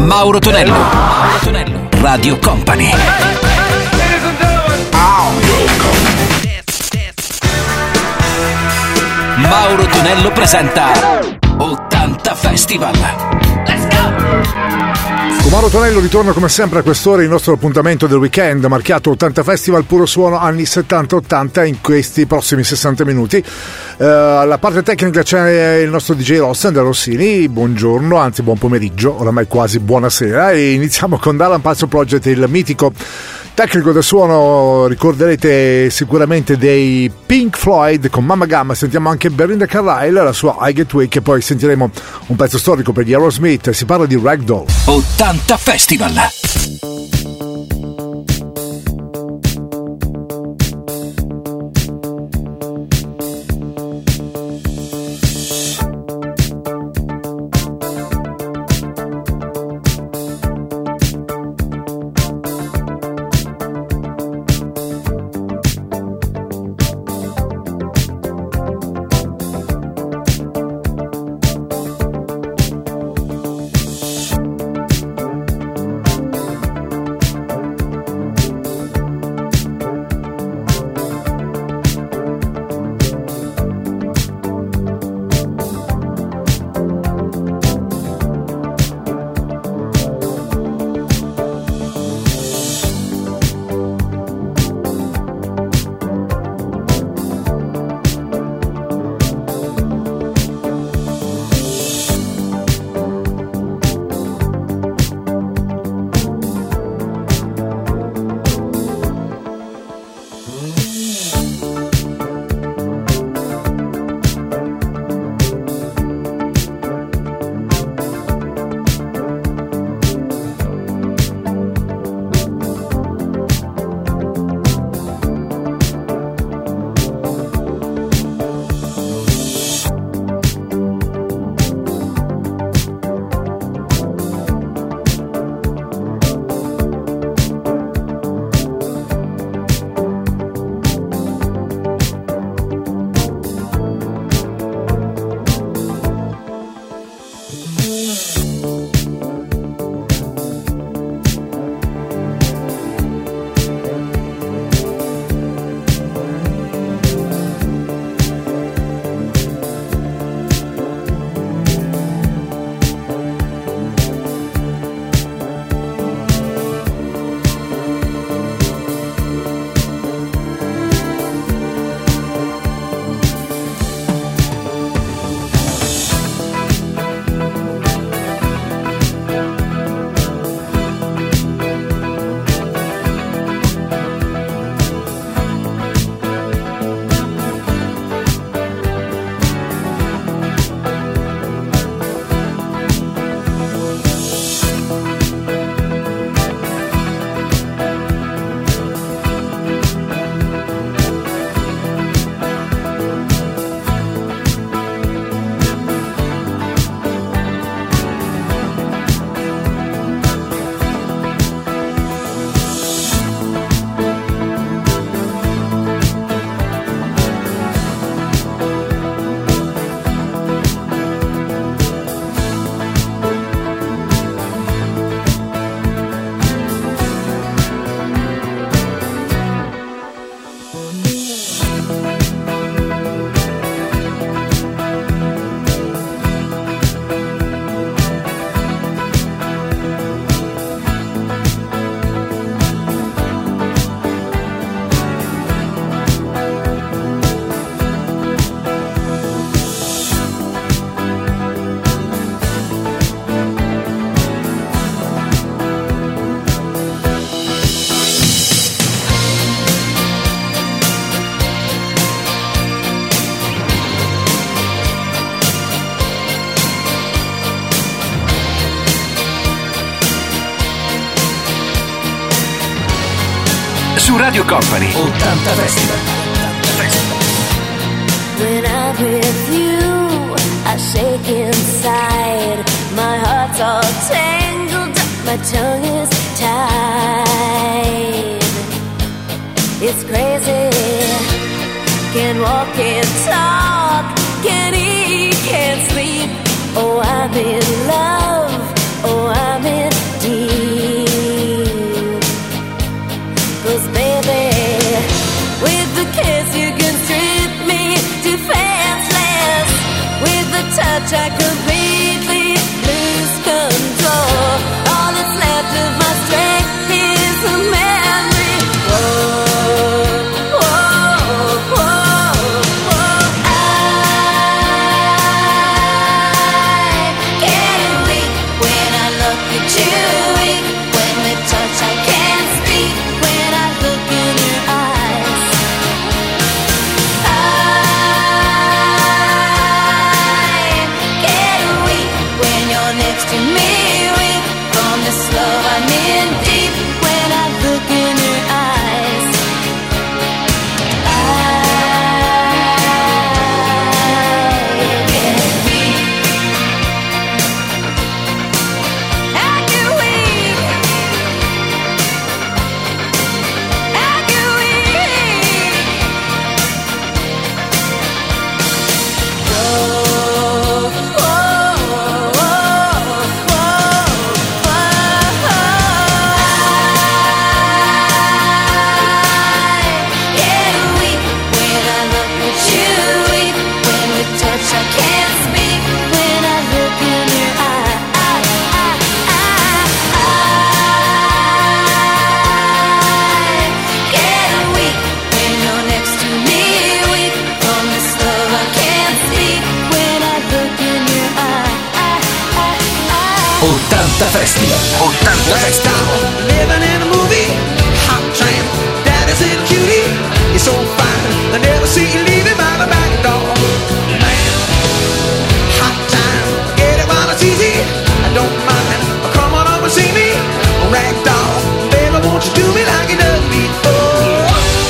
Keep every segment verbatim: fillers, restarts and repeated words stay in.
Mauro Tonello. Mauro Tonello. Radio Company. Mauro Tonello presenta ottanta Festival. Let's go! Con Mauro Tonello ritorna come sempre a quest'ora il nostro appuntamento del weekend marchiato ottanta Festival puro suono anni settanta ottanta in questi prossimi sessanta minuti. Uh, alla parte tecnica c'è il nostro D J Ross, Andrea Rossini. Buongiorno, anzi buon pomeriggio, oramai quasi buonasera, e iniziamo con Dallan Pazzo Project, il mitico tecnico del suono. Ricorderete sicuramente dei Pink Floyd con Mamma Gamma. Sentiamo anche Belinda Carlisle, la sua I Get Weak, e poi sentiremo un pezzo storico per gli Aerosmith. Si parla di Ragdoll. ottanta Festival. Su Radio Company ottanta Festival. When I'm with you, I shake inside. My heart's all tangled up, my tongue is tied. It's crazy. Can't walk, can't talk, can't eat, can't sleep. Oh, I'm in love. Oh, I'm in ottanta Festival. ottanta Festival. Living in a movie, hot tramp, daddy's little cutie. You're so fine, I never see you leaving by the back door. Man, hot time, get it while it's easy. I don't mind, come on up and see me. Ragdoll, baby, won't you do me like you done before?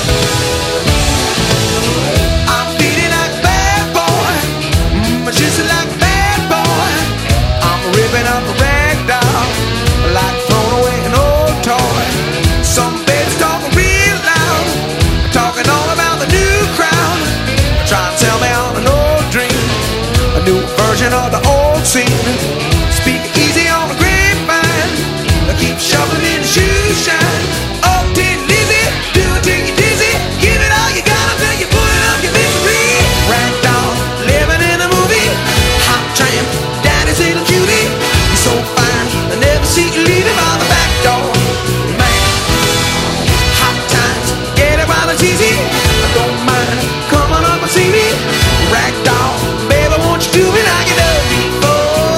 I'm feeling like a bad boy, mm, just like a bad boy. I'm ripping up a ragdoll, like throwing away an old toy. Some babies talking real loud, talking all about the new crowd. Try to tell me on an old dream, a new version of the old scene. Speak easy on the grapevine, keep shoving in the shoe shine. Oh, did Lizzy, do it till you're dizzy. Give it all you got until you put it up your misery. Ragdoll, living in a movie, hot tramp, daddy's little cutie. You're so fine, I never see you leaving by the back door. Man, hot times, get it while it's easy. I don't mind, come on up and see me. Ragdoll, baby, won't you do me like you done before?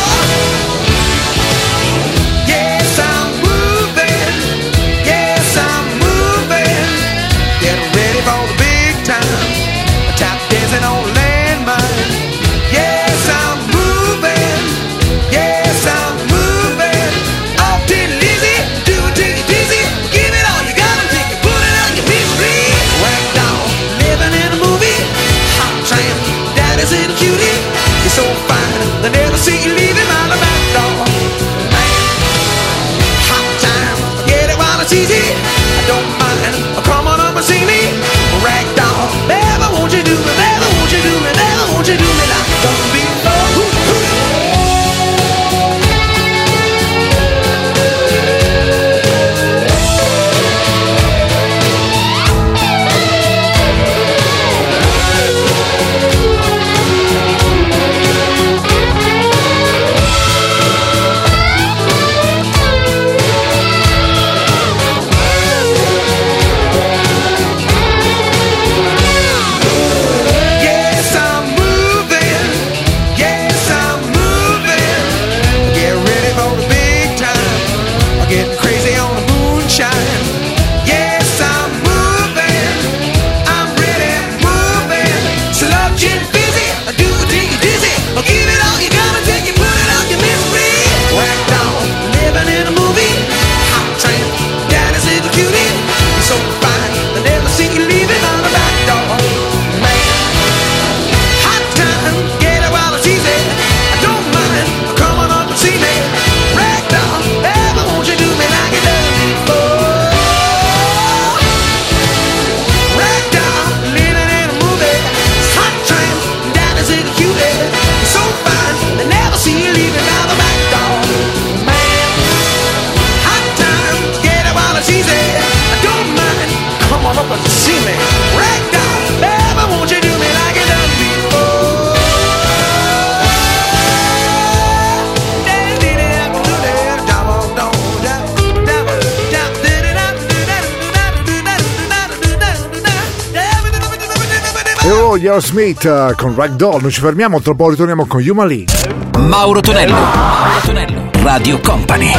Yes, I'm moving. Yes, I'm moving. Get ready for the big time. Tap dancing on landmine. Yes, I'm moving. Yes, I'm moving. Off to Lizzy, do it till you're dizzy. Give it all you got until you put it on your misery. Ragdoll, living in a movie, hot tramp, daddy's little cutie. You're so fine, they never see you leaving out the back door. Man, hot time, get it while it's easy. I don't mind, come on up and see me. Ragdoll, baby, won't you do me, baby, won't you do me, baby, won't you do me like you done before? Hoo, hoo. Yes, I'm moving. Yes, I'm moving. Get ready for the big time. I'm getting crazy on the moonshine. Yes, I'm moving. I'm ready, moving. Sludge and busy. I do it till you're dizzy. I'll give it all you got until you put it on your misery. Ragdoll, living in a movie. Hot tramp, daddy's little cutie. You're so fine, I never see you leaving on the back door. Man, hot time, get it while it's easy. I don't mind, come on up and see me. Ragdoll, baby, won't you do me like you done before? Ragdoll, living in a movie. Hot tramp, daddy's little cutie. You're so fine, they never see you leaving by the back door. Man, hot time, get it while it's easy. I don't mind, come on up and see me. Ragdoll, baby, won't you do me like you done before? E oh, gli Aerosmith con Ragdoll. Noi ci fermiamo, tra poco ritorniamo con Human League. Mauro Tonello. Mauro Tonello. Radio Company.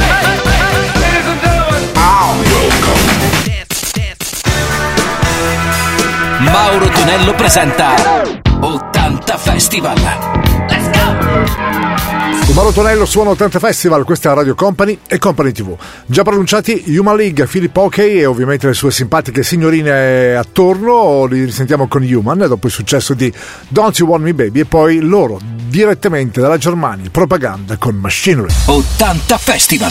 Mauro Tonello presenta ottanta Festival. Let's go! Mauro Tonello suona ottanta Festival, questa è Radio Company e Company tivù. Già pronunciati Human League, Philip Oakey e ovviamente le sue simpatiche signorine attorno. Li risentiamo con Human dopo il successo di Don't You Want Me Baby e poi loro direttamente dalla Germania, Propaganda con Machinery. ottanta Festival.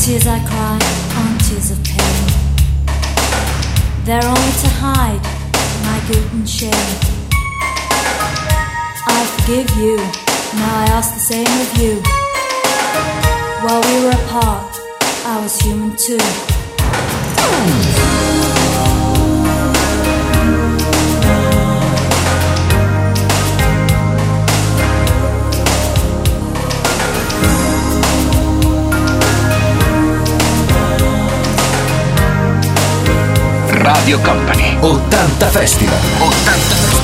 tears I cry aren't tears of pain. They're only to hide my guilt and shame. I forgive you, now I ask the same of you. While we were apart, I was human too. Radio Company ottanta Festival. ottanta Festival.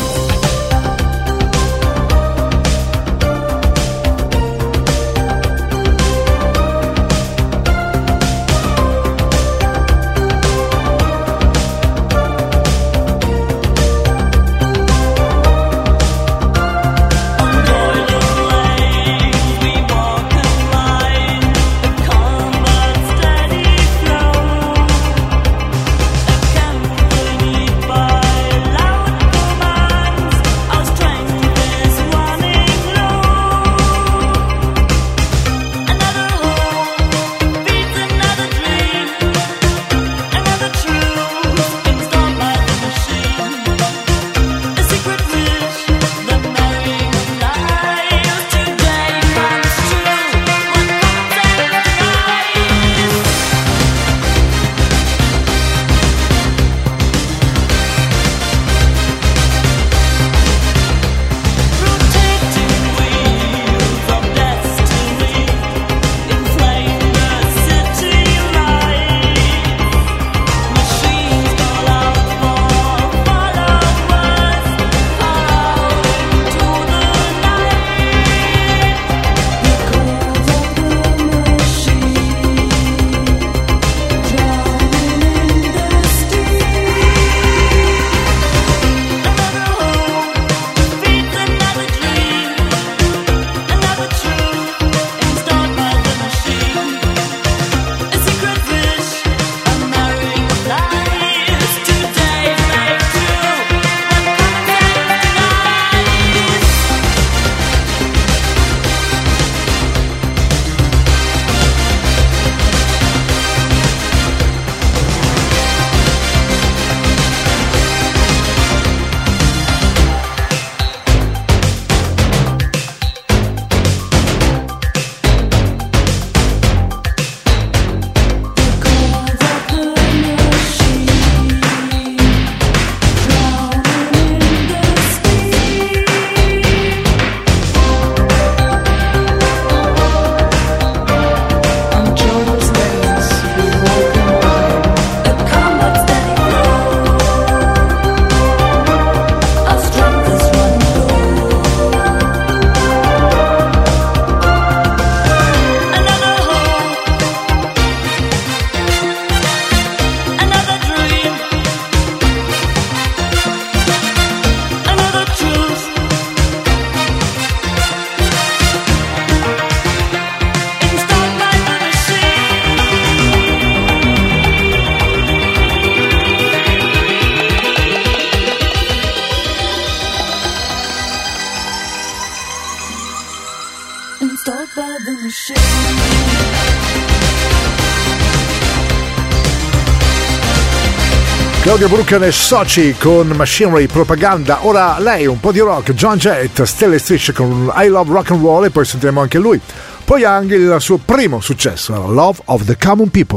Claudia Brucken e Soci con Machinery Propaganda. Ora lei, un po' di rock, John Jett, Stelle Strisce con I Love Rock and Roll, e poi sentiremo anche lui. Poi anche il suo primo successo, Love of the Common People.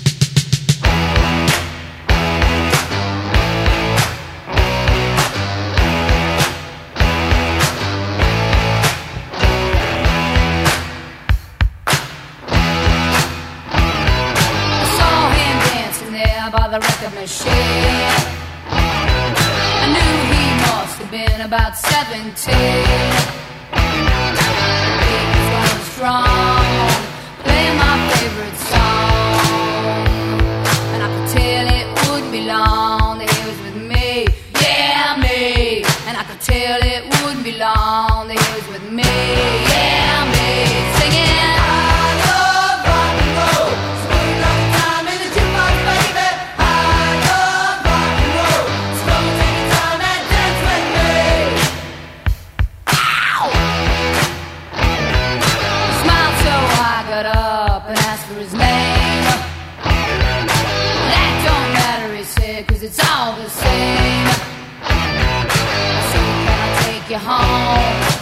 About seventeen, he was strong, playing my favorite song, and I could tell it wouldn't be long that he was with me, yeah me, and I could tell it wouldn't be long that he was with me, yeah me, singing. I love rock and roll, spend a lot of time in the jukebox, baby. I love rock and roll, so take your time and dance with me. Smile.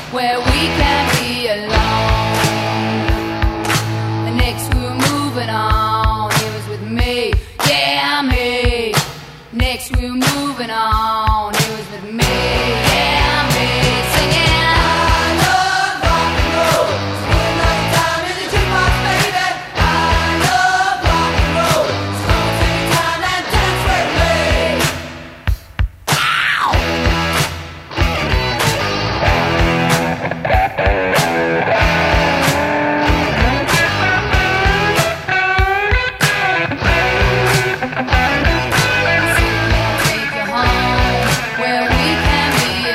where we can be alone. And next we were moving on, it was with me, yeah, me. Next we were moving on, it was with me, yeah, me. Singing, I love rock and roll. Spend night time in the jukebox, baby. I love rock and roll. So come and take your time and dance with me. Take you home where we can be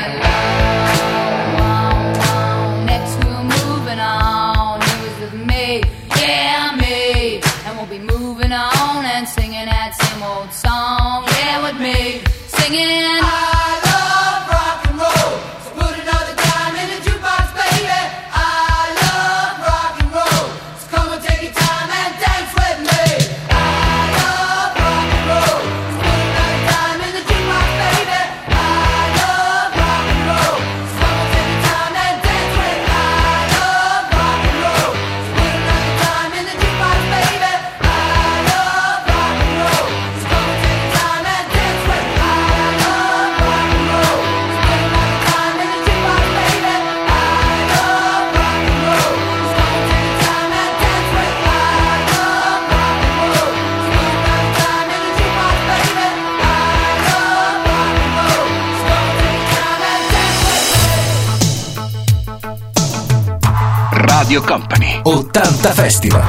alone. Next we're moving on. It was with me, yeah, me. And we'll be moving on and singing that same old song, yeah, with me. Singing, I love rock and roll. So put another dime in the jukebox, baby. I love rock and roll. So come and take your time and dance with me. I love rock and roll. So put another dime in the jukebox, baby. I love rock and roll. So come and take your time and dance with me. I love rock and roll. So put another dime in the jukebox, baby. I love rock and roll. So come and take your time and dance with me. I love rock and roll. So put another dime in the jukebox, baby. I love rock and roll. So come and take your time and dance with me. I love rock and roll. So put another dime in the jukebox, baby. I love rock and roll. So come and take your time and dance with me. Radio Company ottanta Festival.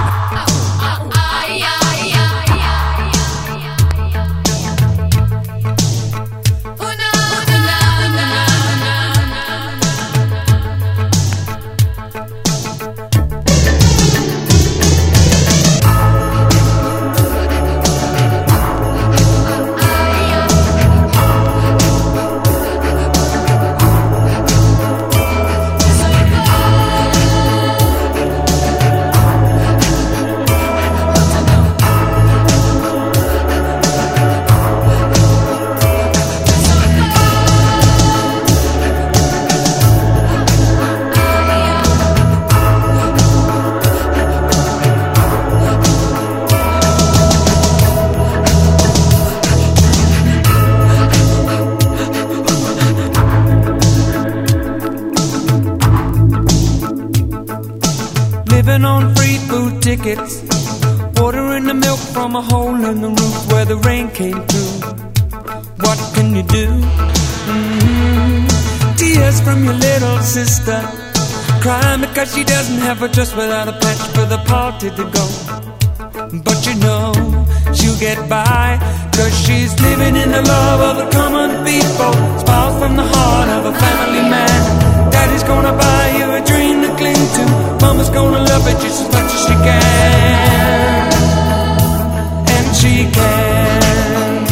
Living on free food tickets, ordering the milk from a hole in the roof where the rain came through. What can you do? Mm-hmm. Tears from your little sister, crying because she doesn't have a dress without a patch for the party to go. But you know she'll get by, cause she's living in the love of the common people. Smiles from the heart of a family man. Daddy's gonna buy you a dream to cling to. Mama's gonna love it just as much as she can. And she can.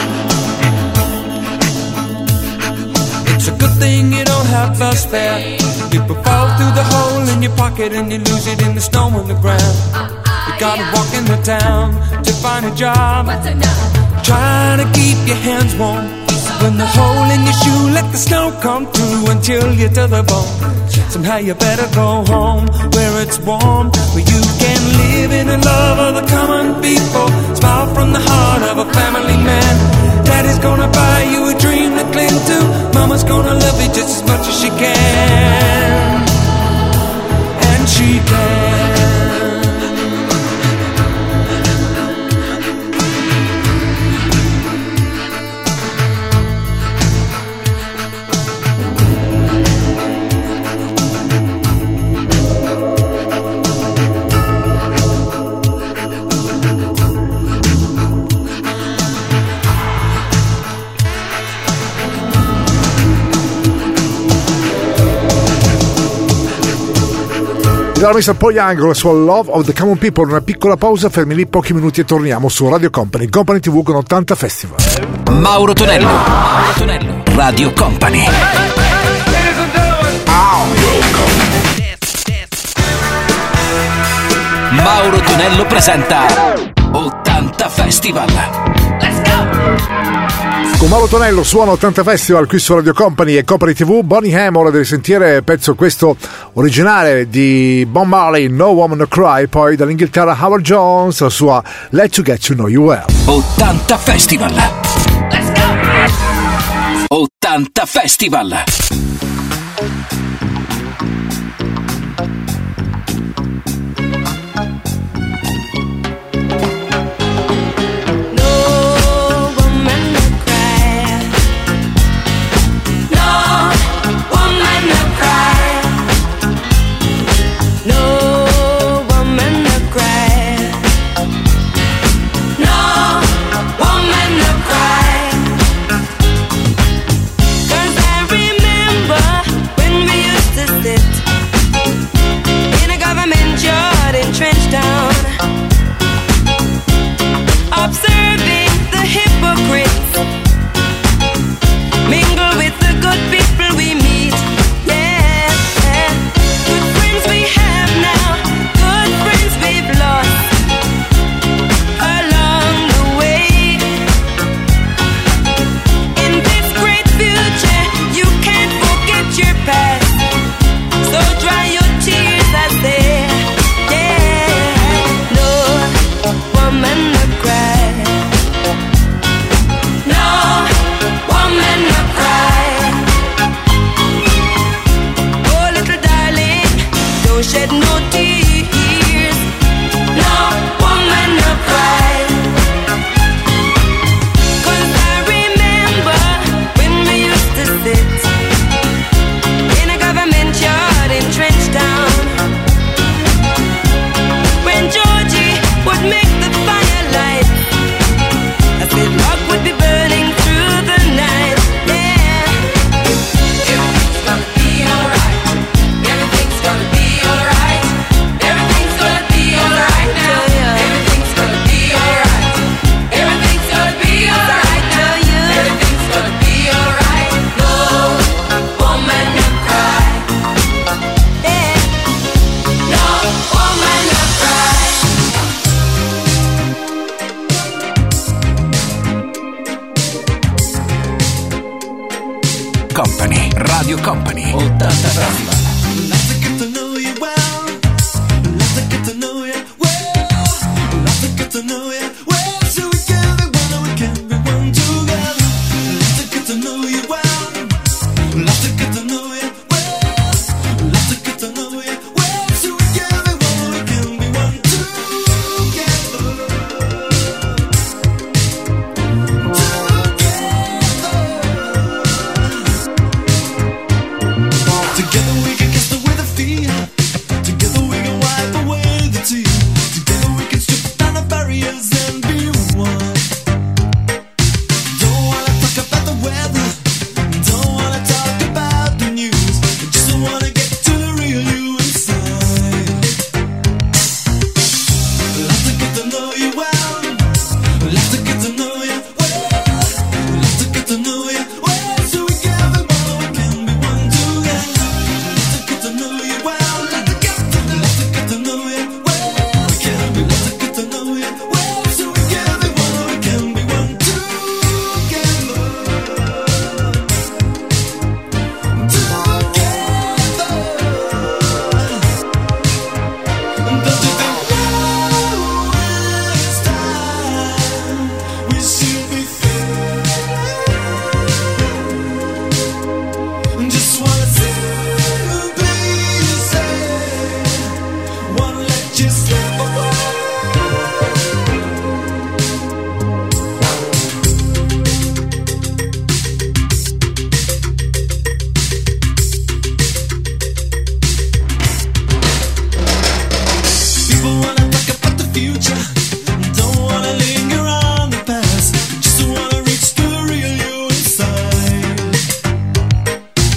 It's a good thing you don't have a spare. People fall through the hole in your pocket and you lose it in the snow on the ground. You gotta walk in the town to find a job. Trying to keep your hands warm. When the hole in your shoe, let the snow come through and chill you to the bone. Somehow you better go home where it's warm, where you can live in the love of the common people. Smile from the heart of a family man. Daddy's gonna buy you a dream to cling to. Mama's gonna love you just as much as she can. And she can. Dalla mister Paul Young con la sua Love of the Common People. Una piccola pausa, fermi lì pochi minuti e torniamo su Radio Company, Company tivù con ottanta Festival. Mauro Tonello, Mauro Tonello, Radio Company. Mauro Tonello presenta ottanta Festival. Let's go! Con Mauro Tonello suona ottanta Festival qui su Radio Company e Company tivù. Bonnie M, ora devi sentire pezzo questo originale di Bob Marley, No Woman No Cry, poi dall'Inghilterra Howard Jones, la sua Let You Get To Know You Well. ottanta Festival. Let's go! ottanta Festival. Company, Radio Company, ottanta Festival.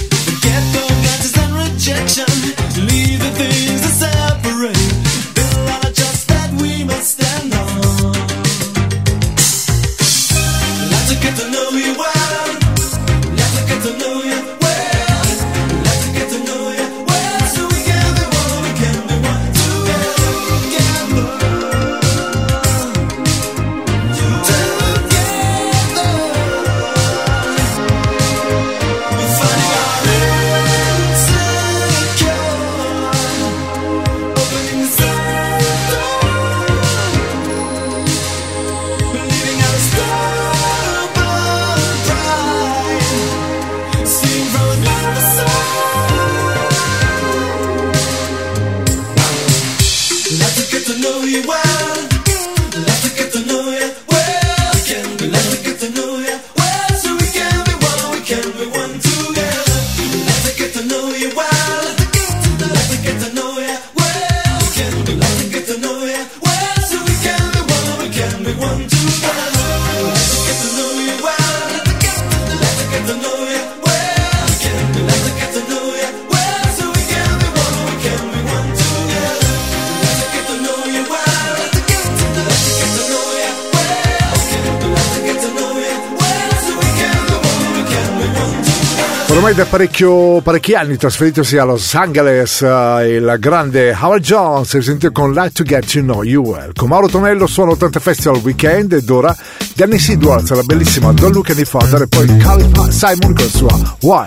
Leave the things that separate. Build know you well. Like to get to know you well. We can be like to get to know you well. So we can be one, we can be one together. Like to get to know you well. Like to get to know you well. We can be like to get to know you well. So we can be one, we can be one together. Like to get to know you well. Like to get to know you well. We can be like to get to know you well. So we can be one, we can be one together. Like to get to know you well. Like to get to know you well. We can be like to get to know you well. So we can be one, we can be one together. Ormai da parecchio, parecchi anni trasferitosi a Los Angeles, eh, il grande Howard Jones si sente con Like to Get to Know You Well. Con Mauro Tonello suona ottanta Festival Weekend ed ora Dennis Edwards, la bellissima Don't Look Any Further e poi Carl Simon con la sua Why.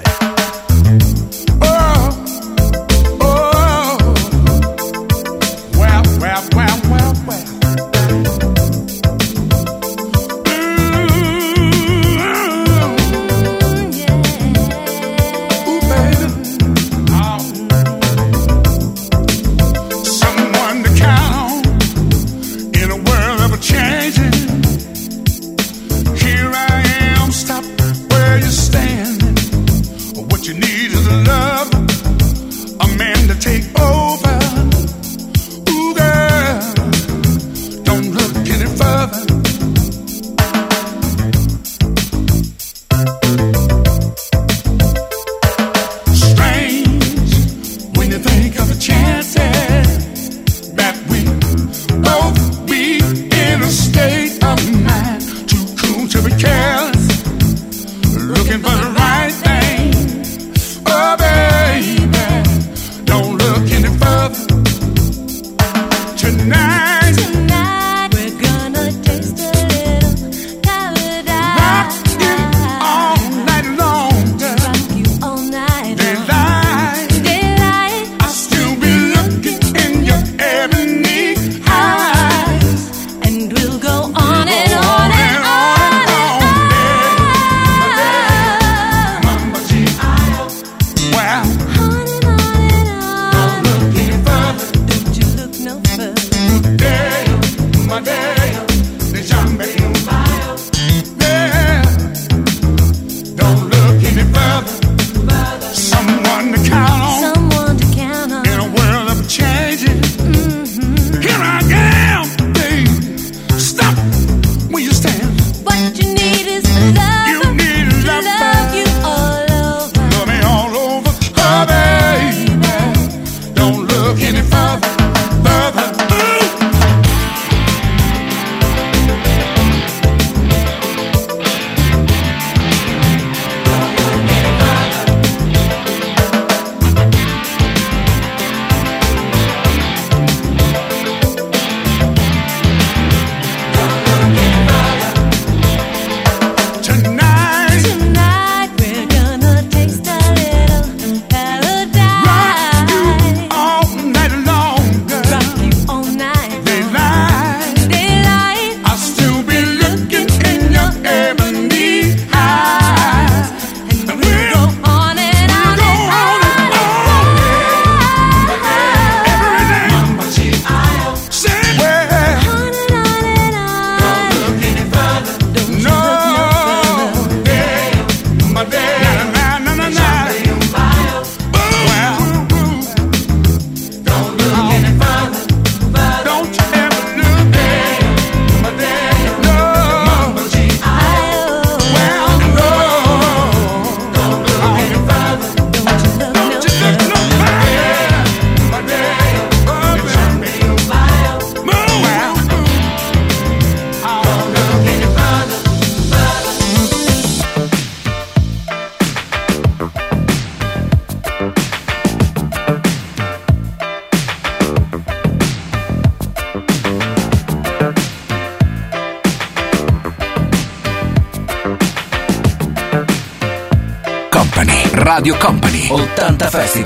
Radio Company ottanta Festival.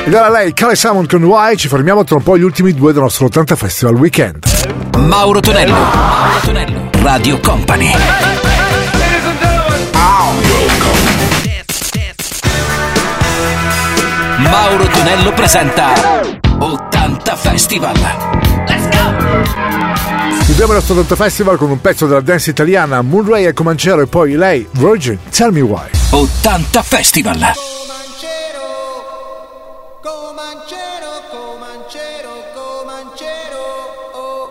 Ed era lei, Carly Simon con Why. Ci fermiamo tra un po' gli ultimi due del nostro ottanta Festival Weekend. Mauro Tonello, Mauro Tonello, Radio Company. Mauro Tonello presenta ottanta Festival. Let's go! Chiudiamo il nostro ottanta Festival con un pezzo della dance italiana, Moonray e Comanchero, e poi lei, Virgin, Tell Me Why. ottanta Festival. Comanchero, Comanchero, Comanchero, Comanchero, oh.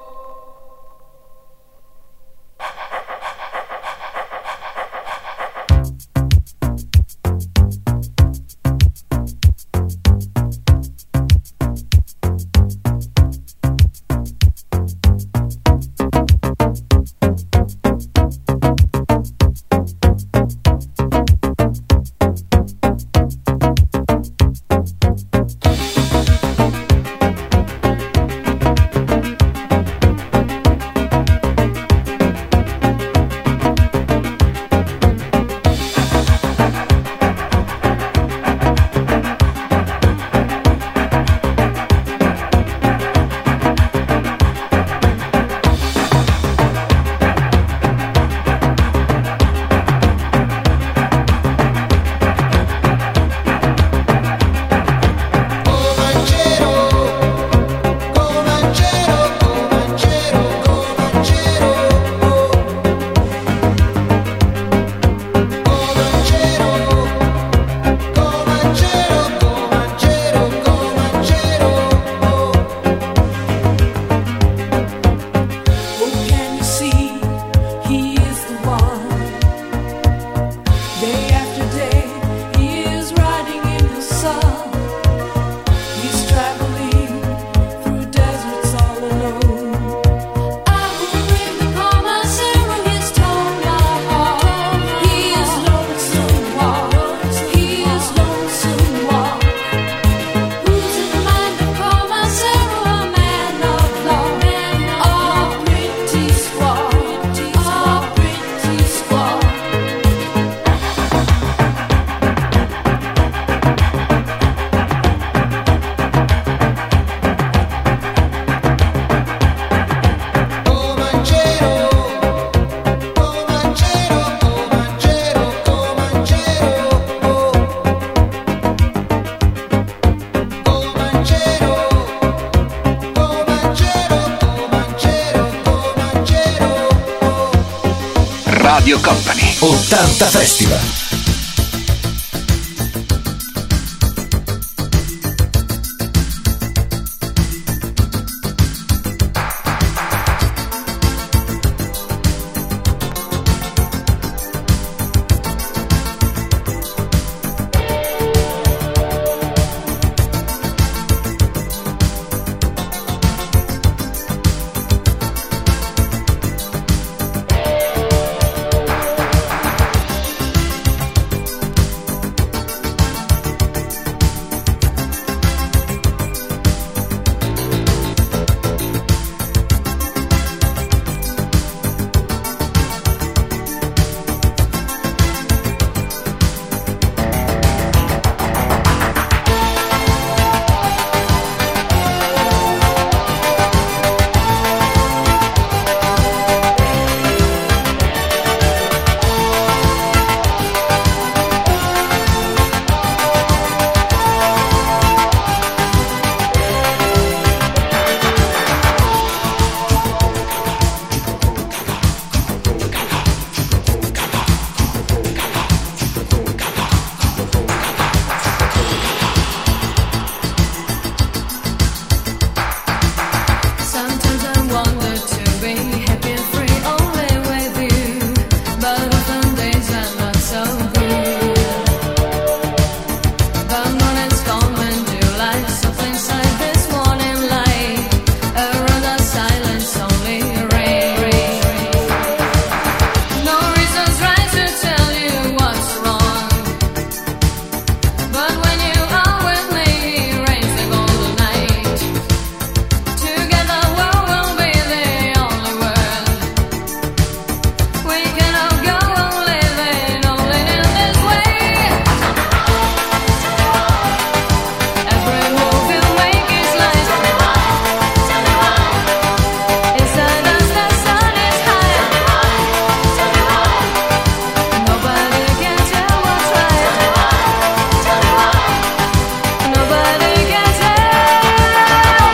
Radio Company ottanta Festival.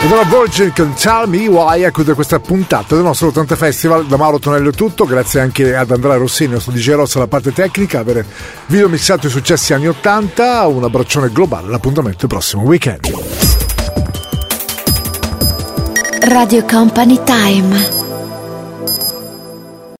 Allora Virgin con Tell Me Why a chiudere questa puntata del nostro ottanta Festival. Da Mauro Tonello è tutto, grazie anche ad Andrea Rossini, nostro D J Ross alla parte tecnica, avere video mixato i successi anni ottanta. Un abbraccione globale, l'appuntamento il prossimo weekend. Radio Company Time.